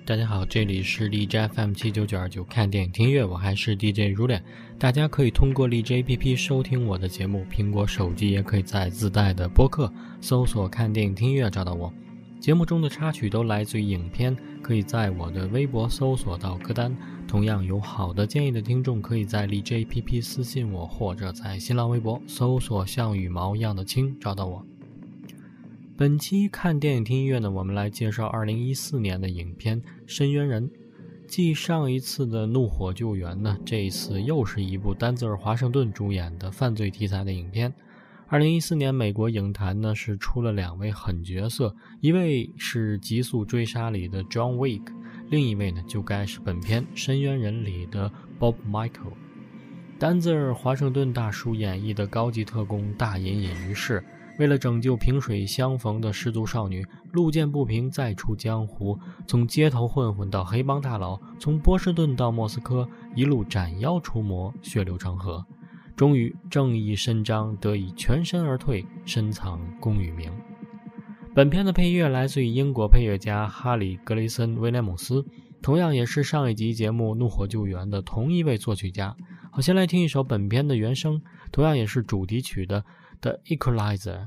大家好，这里是荔枝 FM79929看电影听音乐，我还是 DJ 如脸。大家可以通过荔枝 APP 收听我的节目，苹果手机也可以在自带的播客搜索看电影听音乐找到我。节目中的插曲都来自于影片，可以在我的微博搜索到歌单。同样有好的建议的听众，可以在荔枝 APP 私信我，或者在新浪微博搜索像羽毛一样的青找到我。本期看电影听音乐呢，我们来介绍2014年的影片《深渊人》。继上一次的《怒火救援》呢，这一次又是一部丹泽尔·华盛顿主演的犯罪题材的影片。2014年美国影坛呢是出了2位狠角色，一位是《极速追杀》里的 John Wick， 另一位呢就该是本片《深渊人》里的 Bob Michael。丹泽尔·华盛顿大叔演绎的高级特工大隐隐于市，为了拯救萍水相逢的失足少女，路见不平再出江湖，从街头混混到黑帮大佬，从波士顿到莫斯科，一路斩妖除魔，血流成河，终于正义伸张，得以全身而退，深藏功与名。本片的配乐来自于英国配乐家哈里·格雷森·威廉姆斯，同样也是上一集节目《怒火救援》的同一位作曲家。好，先来听一首本片的原声，同样也是主题曲的 The Equalizer。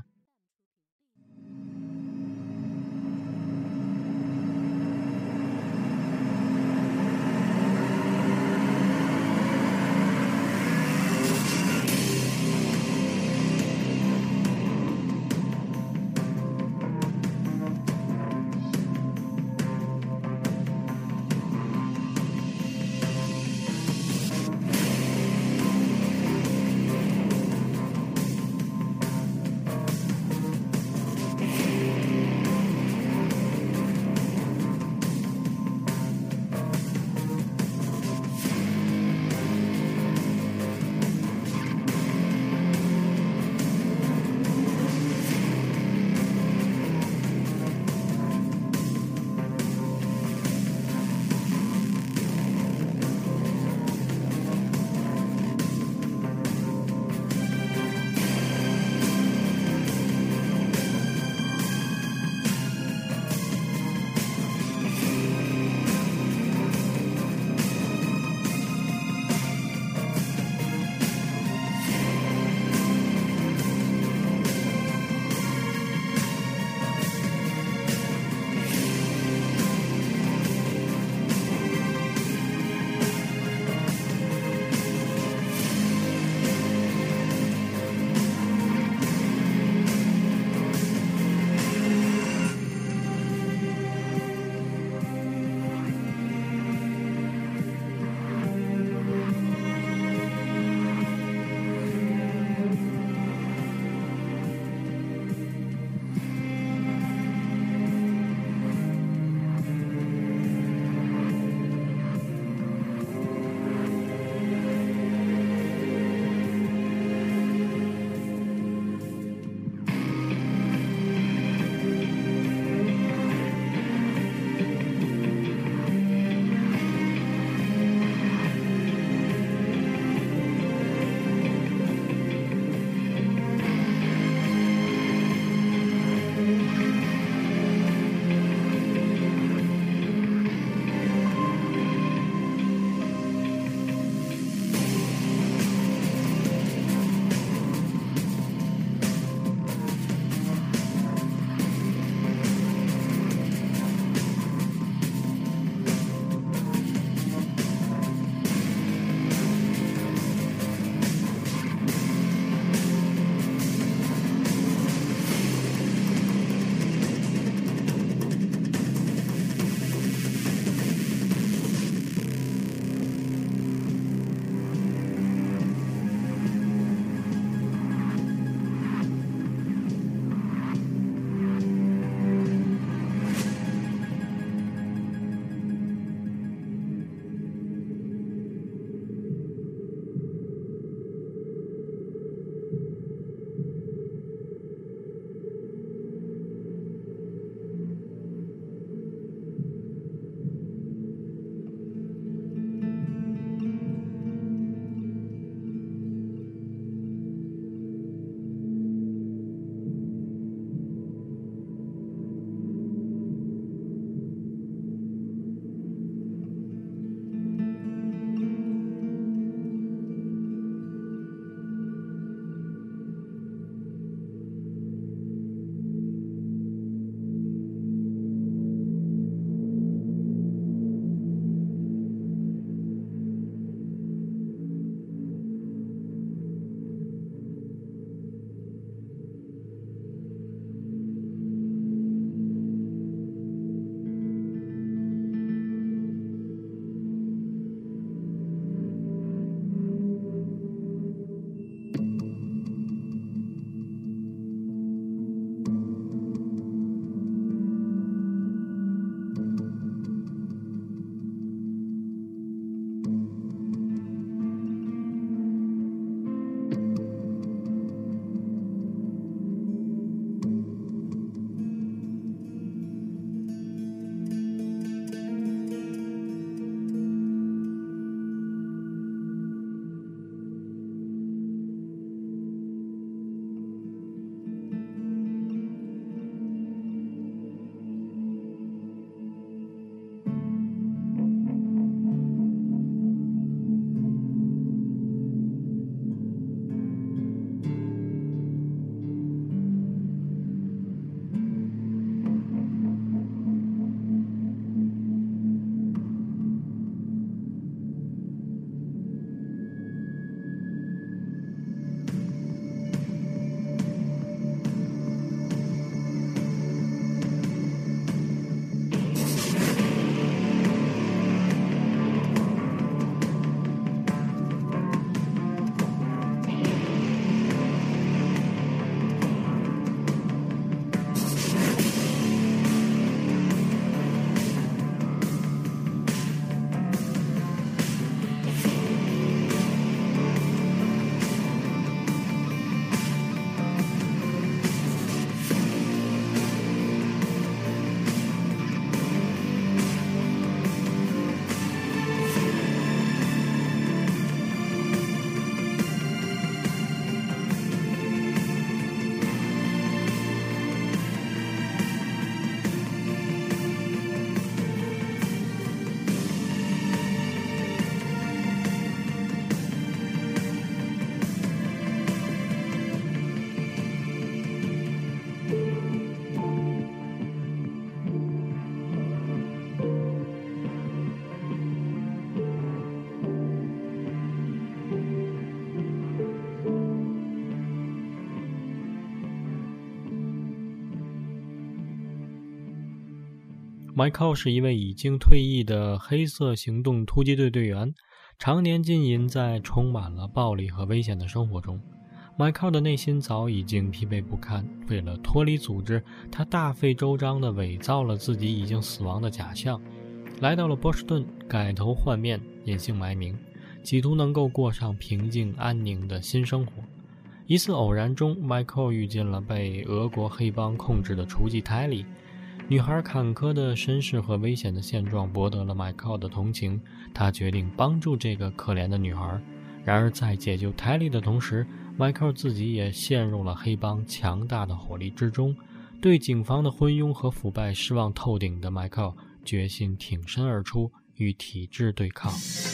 Michael 是一位已经退役的黑色行动突击队队员，常年浸淫在充满了暴力和危险的生活中。Michael 的内心早已经疲惫不堪，为了脱离组织，他大费周章地伪造了自己已经死亡的假象，来到了波士顿，改头换面，隐姓埋名，企图能够过上平静安宁的新生活。一次偶然中， Michael 遇见了被俄国黑帮控制的雏妓泰莉。女孩坎坷的身世和危险的现状博得了 Michael 的同情，他决定帮助这个可怜的女孩。然而在解救泰莉的同时， Michael 自己也陷入了黑帮强大的火力之中。对警方的昏庸和腐败失望透顶的 Michael 决心挺身而出，与体制对抗。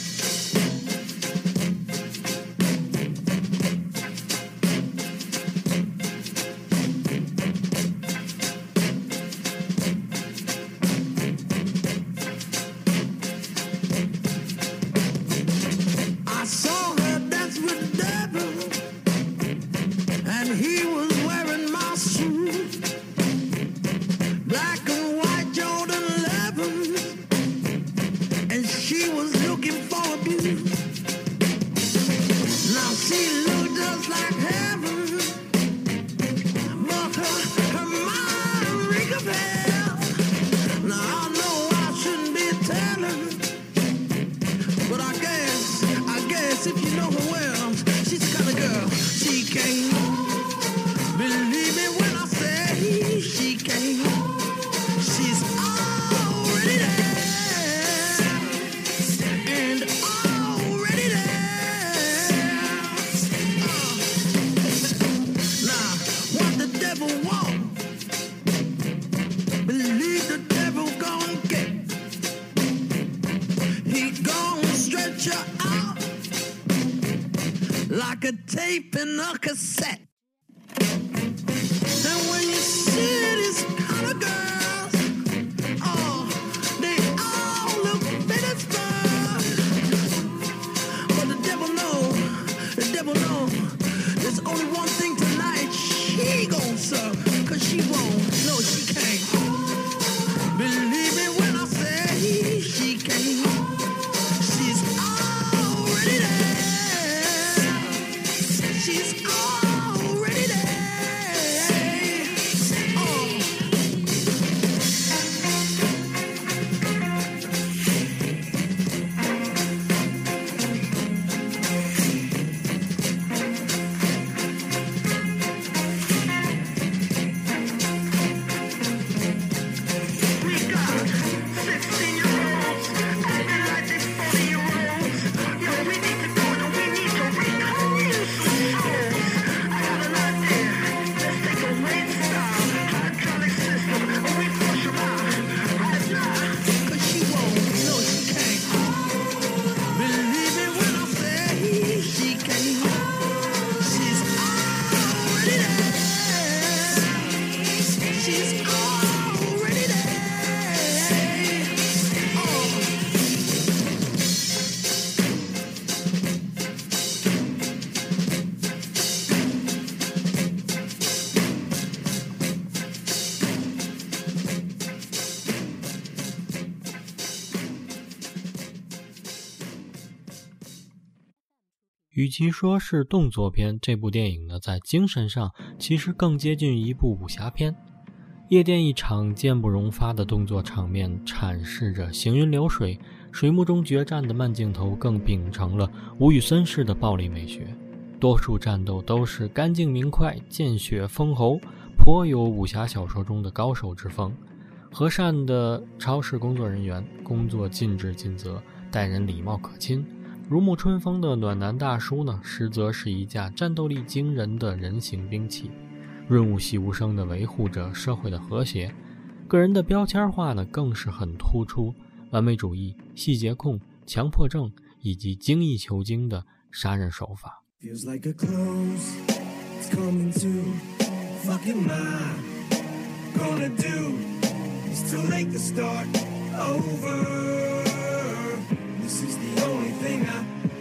Like a tape in a cassette. And when you see these kind of girls, oh, they all look better fun. But the devil knows, there's only one thing tonight she gon' serve, 'cause she won't, no she can't. Believe me when I say she can't. She's already there.She's already there. Oh. We got 16-year-olds acting like they 40-year-olds. Yo, we need to go and we need to reclaim some souls.I got an idea. Let's take a late stop, hydraulic system, and we flush them out right now. 'Cause she won't, no she can't. Believe me when I say she can't. She's already there. She's already there. Oh. 与其说是动作片，这部电影呢，在精神上其实更接近一部武侠片。夜店一场坚不容发的动作场面阐释着行云流水，水幕中决战的慢镜头更秉承了吴宇森式的暴力美学。多数战斗都是干净明快，见血封喉，颇有武侠小说中的高手之风。和善的超市工作人员，工作尽职尽责，待人礼貌可亲。如沐春风的暖男大叔呢，实则是一架战斗力惊人的人形兵器，润物细无声地维护着社会的和谐。个人的标签化呢，更是很突出，完美主义、细节控、强迫症以及精益求精的杀人手法。 Feels like a close, it's coming to fucking mine. Gonna do, it's too late to start over. This is the only thing I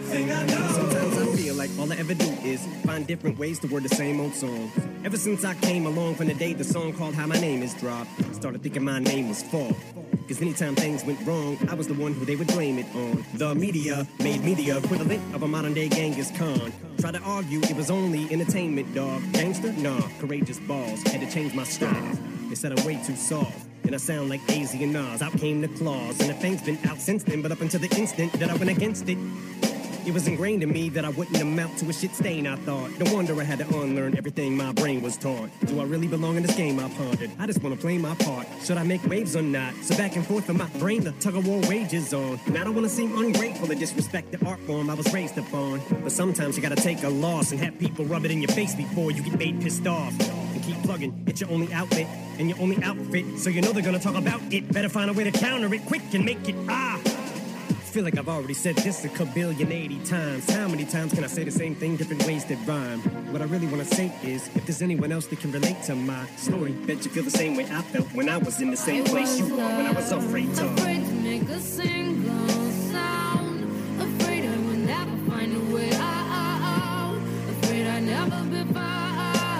thing I know. Sometimes I feel like all I ever do is find different ways to word the same old song. Ever since I came along from the day the song called How My Name Is dropped, started thinking my name was Fall. Cause anytime things went wrong, I was the one who they would blame it on. The media made me the equivalent of a modern day Genghis Khan. Tried to argue it was only entertainment, dog. Gangster? Nah, courageous balls. Had to change my style. They said I'm way too soft, and I sound like AZ and Nas. Out came the claws, and the thing's been out since then. But up until the instant that I went against it, it was ingrained in me that I wouldn't amount to a shit stain, I thought. No wonder I had to unlearn everything my brain was taught. Do I really belong in this game, I pondered? I just wanna play my part. Should I make waves or not? So back and forth in my brain, the tug-of-war wages on. And I don't wanna seem ungrateful or disrespect the art form I was raised upon. But sometimes you gotta take a loss and have people rub it in your face before you get made pissed off. And keep plugging, it's your only outlet and your only outfit. So you know they're gonna talk about it. Better find a way to counter it quick and make it I feel like I've already said this a kabillion 80 times. How many times can I say the same thing, different ways that rhyme? What I really want to say is, if there's anyone else that can relate to my story, bet you feel the same way I felt when I was in the same place you were when I was afraid to make a single sound. Afraid I would never find a way out. Afraid I'd never be found.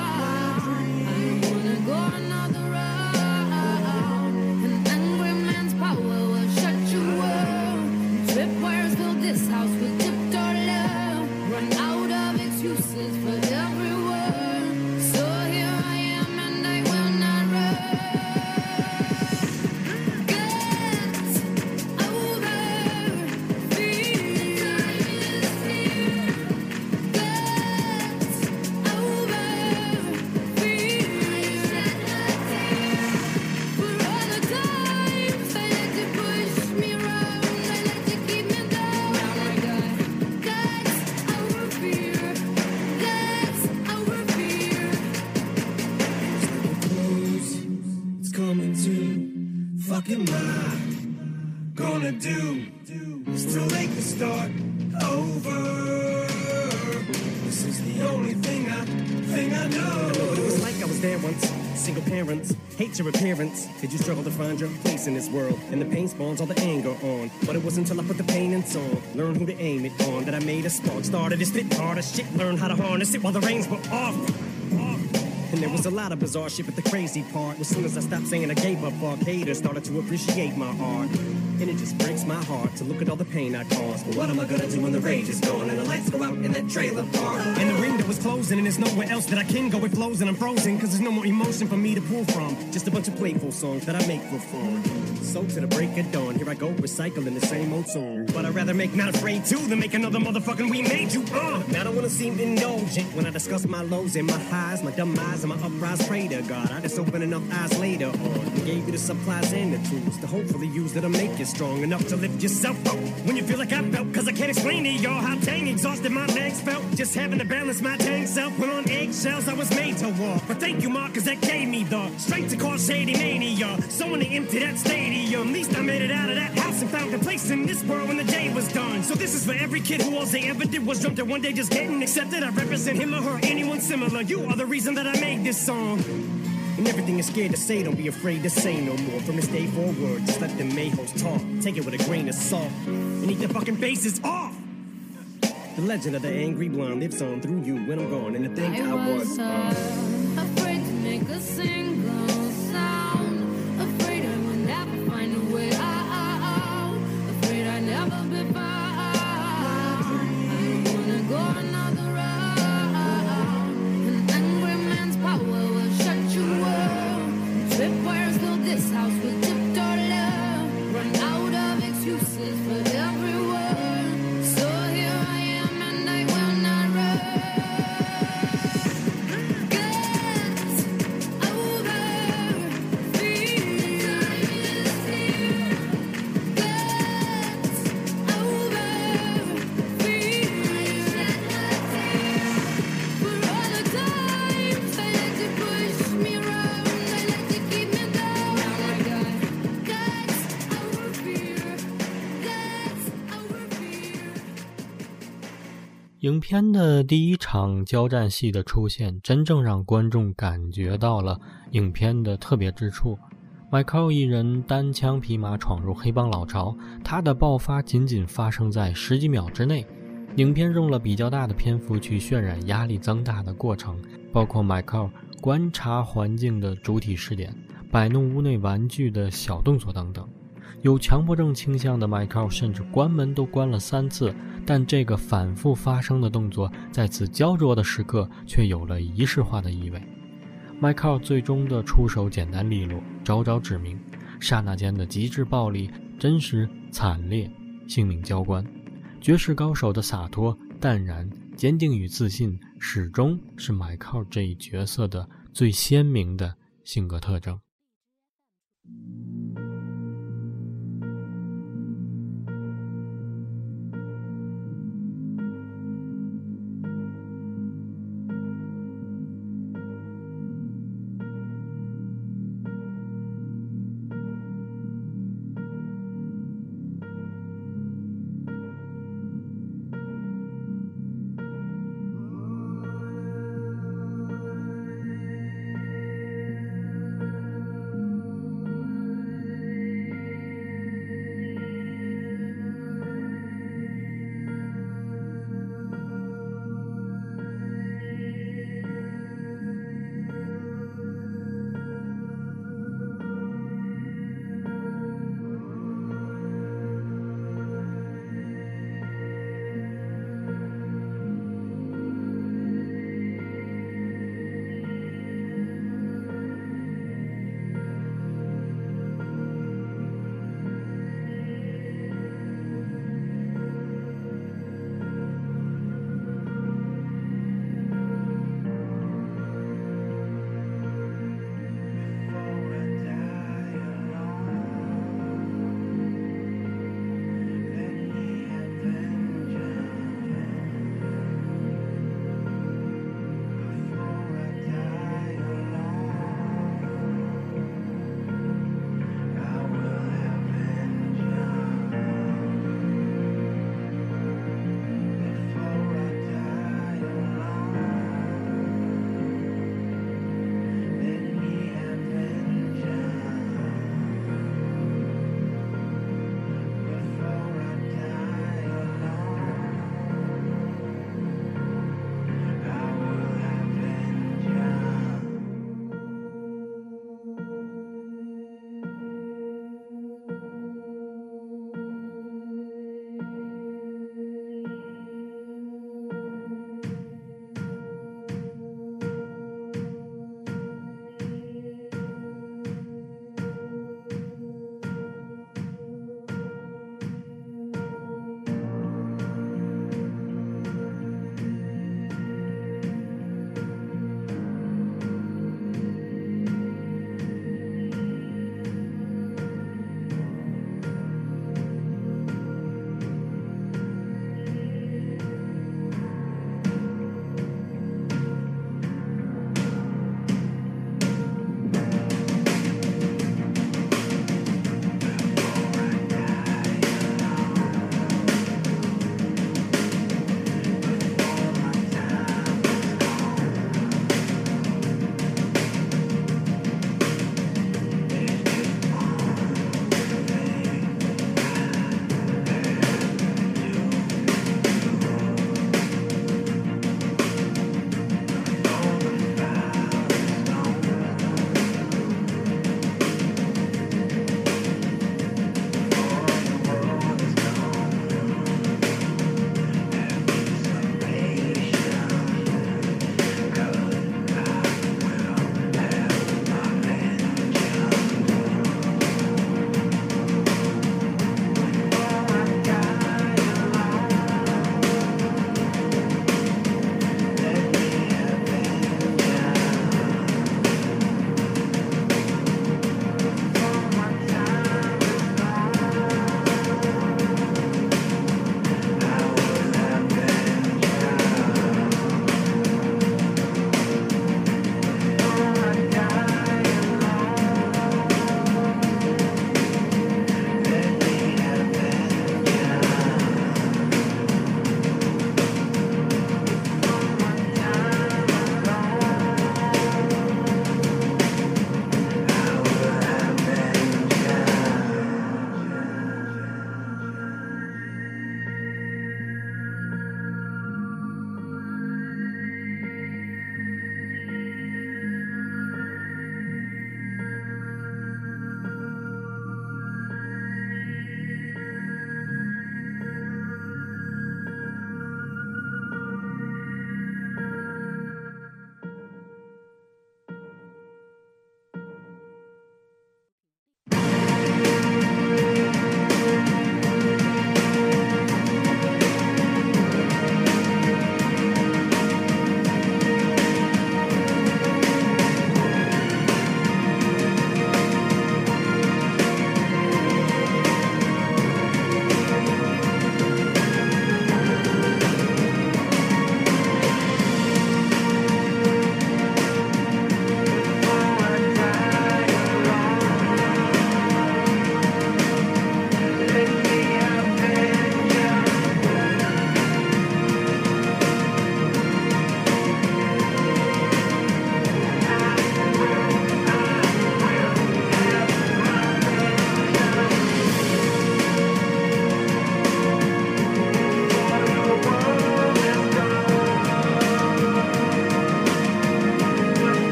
I don't wanna go another round. An angry man's power will shut you up. Tripwires fill this house with tiptoe love. Run out of excuses for every word. So here I am and I will not run. Get over fear. Get over fear. For all the times I let you push me around, I let you keep me down. That's our fear. That's our fear. Close, it's coming to fucking mine. Gonna do. It's too late to start over. This is the only thing I know. It was like I was there once. Single parents, hate your appearance. Did you struggle to find your place in this world? And the pain spawns all the anger on. But it wasn't until I put the pain in song, learned who to aim it on, that I made a spark. Started to spit hard as shit, learned how to harness it while the reins were off. And there was a lot of bizarre shit, but the crazy part was soon as I stopped saying I gave up, fuck haters started to appreciate my art. And it just breaks my heart to look at all the pain I caused. But what am I gonna do when the rage is gone and the lights go out in that trailer park? And the window is closing and there's nowhere else that I can go. It flows and I'm frozen cause there's no more emotion for me to pull from. Just a bunch of playful songs that I make for fun. So to the break of dawn, here I go recycling the same old song. But I'd rather make Not Afraid 2 than make another motherfucking We Made You. Now I don't wanna seem indulgent when I discuss my lows and my highs, my dumb eyes and my uprise. Pray to God, I just open enough eyes later on and gave you the supplies and the tools to hopefully use that'll make you strong enough to lift yourself up when you feel like I felt. Cause I can't explain to y'all how dang exhausted my legs felt. Just having to balance my dang self when on eggshells I was made to walk. But thank you, Mark, cause that gave me the strength to cause shady mania. Someone to empty that stadium. At least I made it out of that house and found a place in this world when the day was done. So this is for every kid who all they ever did was jump to one day just getting accepted. I represent him or her, anyone similar. You are the reason that I made this song. And everything you're scared to say, don't be afraid to say no more. From this day forward, just let the mayhoes talk. Take it with a grain of salt and eat their fucking faces off. The legend of the angry blonde lives on through you when I'm gone. And to think I was afraid to make a single sound. Afraid I would never find a way out. Afraid I'd never be found. I don't wanna go another round. An angry man's power will shut you up. Tripwires fill this house with tiptoe love. Run out of excuses for every word. So here I am and I will not run. Get over fear. Get over fear. For all the times I let you push me around, I let you keep me down. Now I got that's our fear. That's our fear. 影片的第一场交战戏的出现，真正让观众感觉到了影片的特别之处。Michael 一人单枪匹马闯入黑帮老巢，他的爆发仅仅发生在10几秒之内。 影片用了比较大的篇幅去渲染压力增大的过程，包括迈克尔观察环境的主体视点，摆弄屋内玩具的小动作等等。有强迫症倾向的迈克尔甚至关门都关了3次，但这个反复发生的动作在此焦灼的时刻却有了仪式化的意味。迈克尔最终的出手简单利落，招招致命，刹那间的极致暴力，真实惨烈，性命交关。绝世高手的洒脱、淡然、坚定与自信，始终是迈克尔这一角色的最鲜明的性格特征。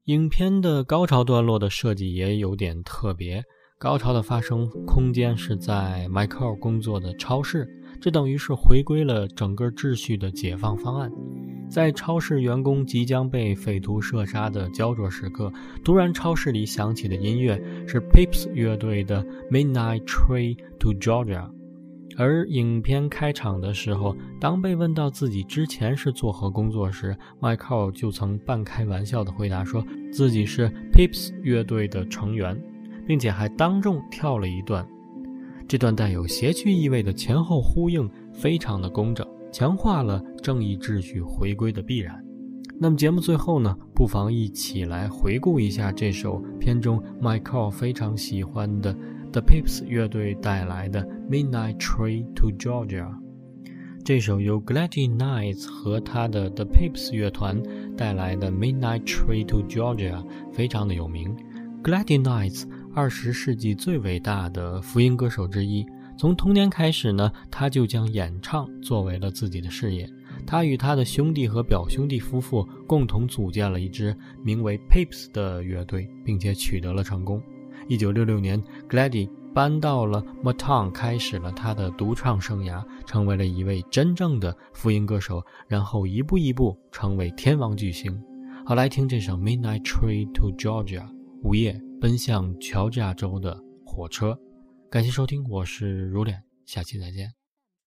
影片的高潮段落的设计也有点特别，高潮的发生空间是在迈克尔工作的超市，这等于是回归了整个秩序的解放方案。在超市员工即将被匪徒射杀的焦灼时刻，突然超市里响起的音乐是 Pips 乐队的 Midnight Train to Georgia。 而影片开场的时候，当被问到自己之前是做何工作时，迈克尔就曾半开玩笑地回答说自己是 Pips 乐队的成员，并且还当众跳了一段。这段带有谐趣意味的前后呼应非常的工整，强化了正义秩序回归的必然。那么节目最后呢，不妨一起来回顾一下这首片中迈克尔非常喜欢的 The Pips 乐队带来的 Midnight Train to Georgia。 这首由 Gladys Knight 和他的 The Pips 乐团带来的 Midnight Train to Georgia 非常的有名。 Gladys Knight 20世纪最伟大的福音歌手之一，从童年开始呢，他就将演唱作为了自己的事业。他与他的兄弟和表兄弟夫妇共同组建了一支名为 Pips 的乐队，并且取得了成功。1966年 Gladys 搬到了 Motown， 开始了他的独唱生涯，成为了一位真正的福音歌手，然后一步一步成为天王巨星。好，来听这首 Midnight Train to Georgia， 午夜奔向乔治亚州的火车。感谢收听，我是如脸，下期再见。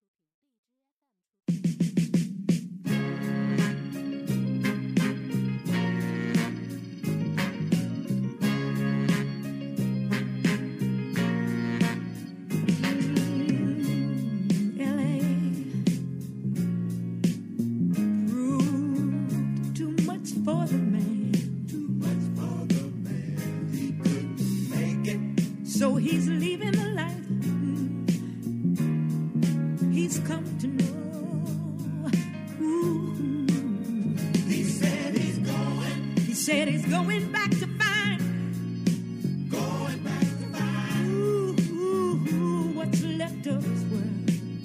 So he's leaving the life he's come to know. Ooh. He said he's going back to find. Ooh, what's left of his world.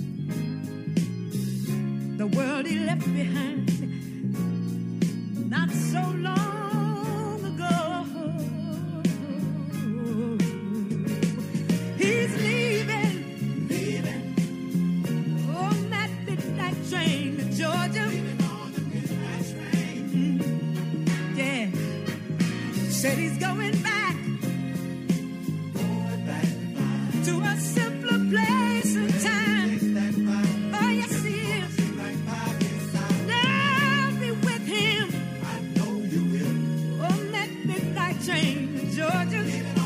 The world he left behind not so long ago. He's leaving on that midnight train to Georgia. Yeah, said he's going back to a simpler place and time. Oh yes he is. I'll be with him on that midnight train to Georgia.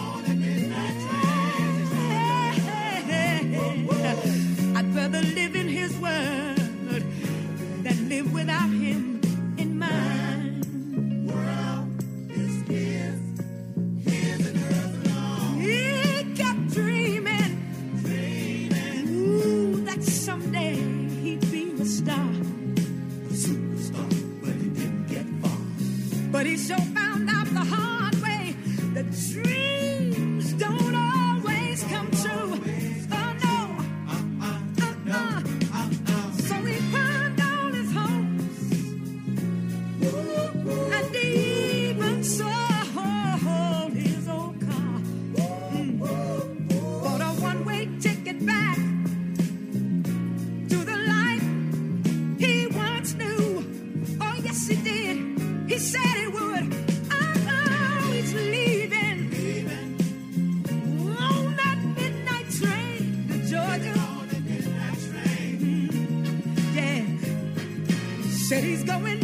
I'd rather live in his world than live without him in mine. World is his and hers alone. He kept dreaming, ooh, that someday he'd be a star, a superstar, but he didn't get far. But he sure found out the hard way that dreams don't always come true. He said he would. Oh, he's leaving on that midnight train to Georgia. Yeah, said he's going